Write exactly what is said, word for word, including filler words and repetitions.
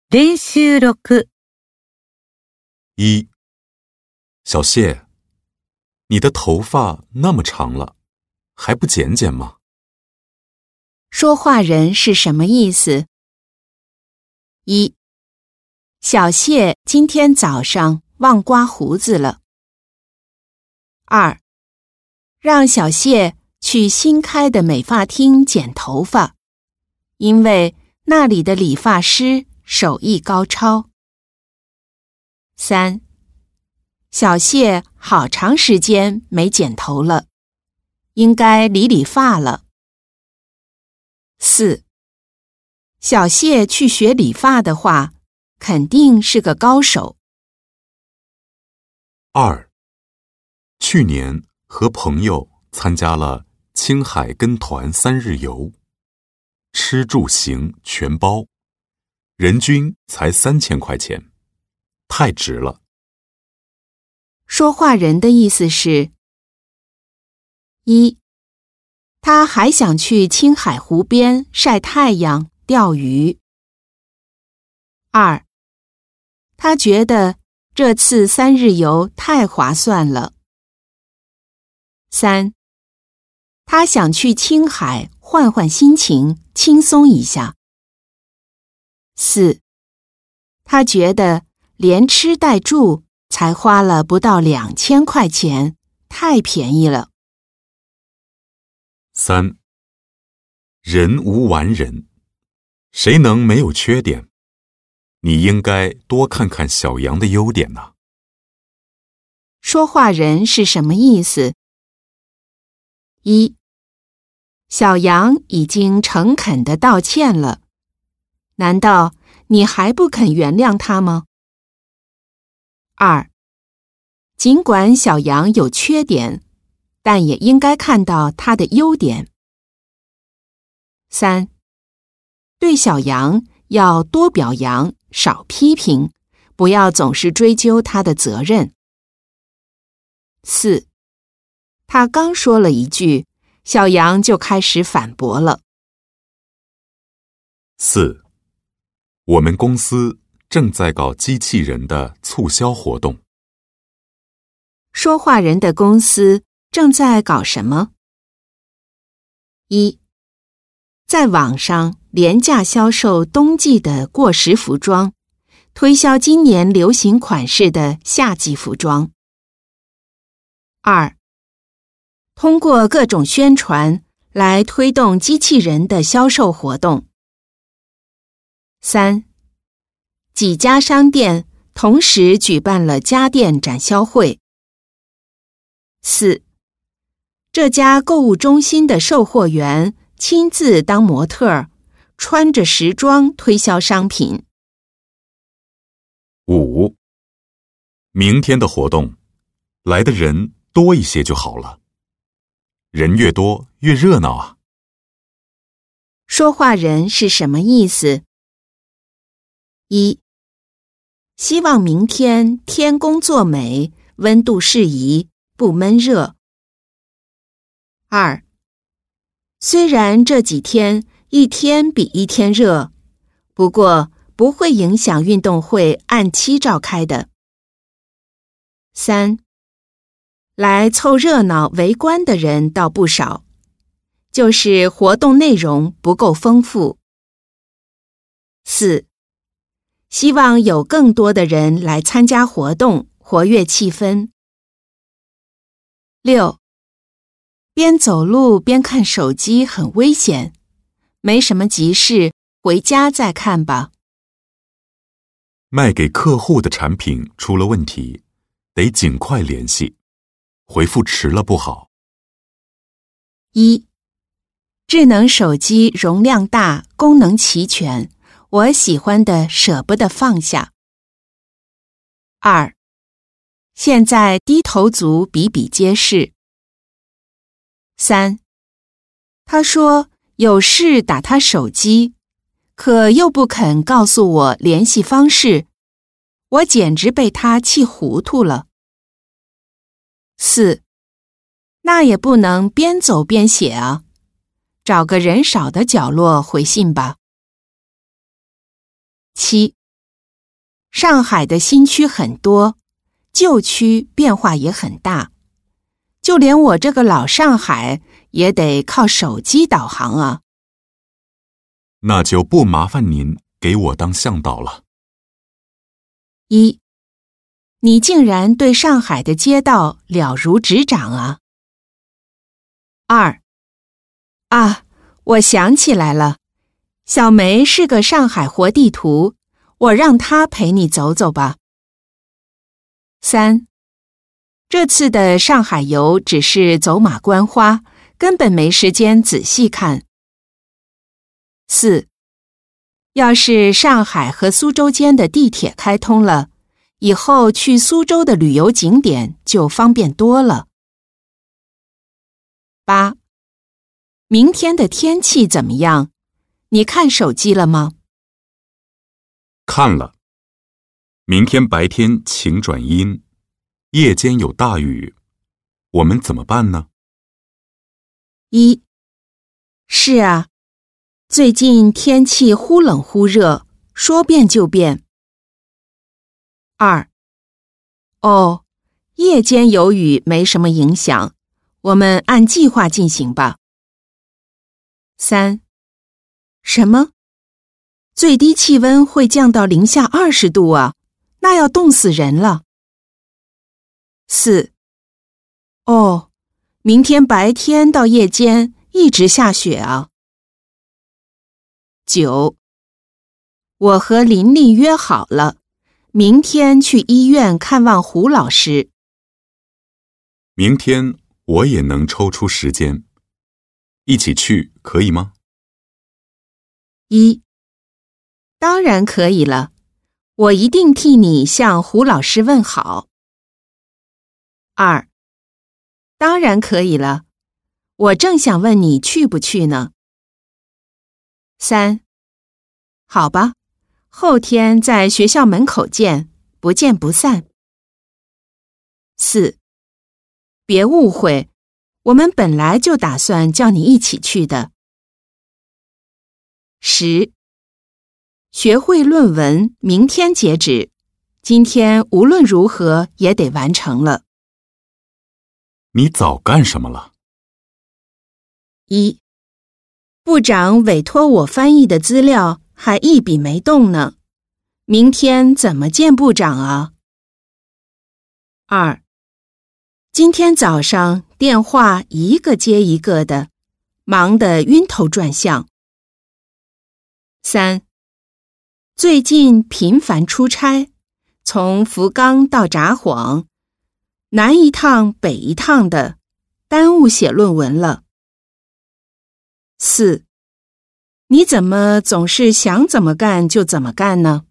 練習六。 一，小谢，你的头发那么长了，还不剪剪吗？ 说话人是什么意思？一，小谢今天早上忘刮胡子了。二，让小谢去新开的美发厅剪头发，因为那里的理发师手艺高超。三，小谢好长时间没剪头了，应该理理发了。四，小谢去学理发的话，肯定是个高手。 二，去年和朋友参加了青海跟团三日游，吃住行全包，人均才三千块钱，太值了。 说话人的意思是：一，他还想去青海湖边晒太阳、钓鱼。二，他觉得这次三日游太划算了。三，他想去青海换换心情，轻松一下。四，他觉得连吃带住才花了不到两千块钱，太便宜了。 三，人无完人，谁能没有缺点？你应该多看看小杨的优点呐。 说话人是什么意思？一，小杨已经诚恳地道歉了，难道你还不肯原谅他吗？二，尽管小杨有缺点，但也应该看到他的优点。三，对小杨要多表扬，少批评，不要总是追究他的责任。四，他刚说了一句，小杨就开始反驳了。 四，我们公司正在搞机器人的促销活动。 说话人的公司正在搞什么？一，在网上廉价销售冬季的过时服装，推销今年流行款式的夏季服装。二，通过各种宣传来推动机器人的销售活动。三，几家商店同时举办了家电展销会。四，这家购物中心的售货员亲自当模特儿，穿着时装推销商品。 五，明天的活动，来的人多一些就好了，人越多越热闹啊。 说话人是什么意思？一，希望明天天公作美，温度适宜，不闷热。二，虽然这几天一天比一天热，不过不会影响运动会按期召开的。三，来凑热闹围观的人倒不少，就是活动内容不够丰富。四，希望有更多的人来参加活动，活跃气氛。六，边走路边看手机很危险，没什么急事，回家再看吧。 卖给客户的产品出了问题，得尽快联系，回复迟了不好。 一，智能手机容量大，功能齐全，我喜欢的舍不得放下。二，现在低头族比比皆是。三，他说有事打他手机，可又不肯告诉我联系方式，我简直被他气糊涂了。四，那也不能边走边写啊，找个人少的角落回信吧。七， 上海的新区很多，旧区变化也很大，就连我这个老上海也得靠手机导航啊。 那就不麻烦您给我当向导了。 一，你竟然对上海的街道了如指掌啊。二，啊，我想起来了，小梅是个上海活地图，我让她陪你走走吧。三，这次的上海游只是走马观花，根本没时间仔细看。四，要是上海和苏州间的地铁开通了，以后去苏州的旅游景点就方便多了。八，明天的天气怎么样？你看手机了吗？ 看了。明天白天晴转阴，夜间有大雨，我们怎么办呢？ 一，是啊，最近天气忽冷忽热，说变就变。二，哦，夜间有雨没什么影响，我们按计划进行吧。三，什么？最低气温会降到零下二十度啊，那要冻死人了。四，哦，明天白天到夜间一直下雪啊。九，我和琳琳约好了，明天去医院看望胡老师。 明天我也能抽出时间，一起去可以吗？ 一，当然可以了，我一定替你向胡老师问好。二，当然可以了，我正想问你去不去呢。三，好吧，后天在学校门口见，不见不散。四，别误会，我们本来就打算叫你一起去的。十，学会论文明天截止，今天无论如何也得完成了。 你早干什么了？ 一，部长委托我翻译的资料还一笔没动呢，明天怎么见部长啊？二，今天早上电话一个接一个的，忙得晕头转向。三，最近频繁出差，从福冈到札幌，南一趟北一趟的，耽误写论文了。四，你怎么总是想怎么干就怎么干呢？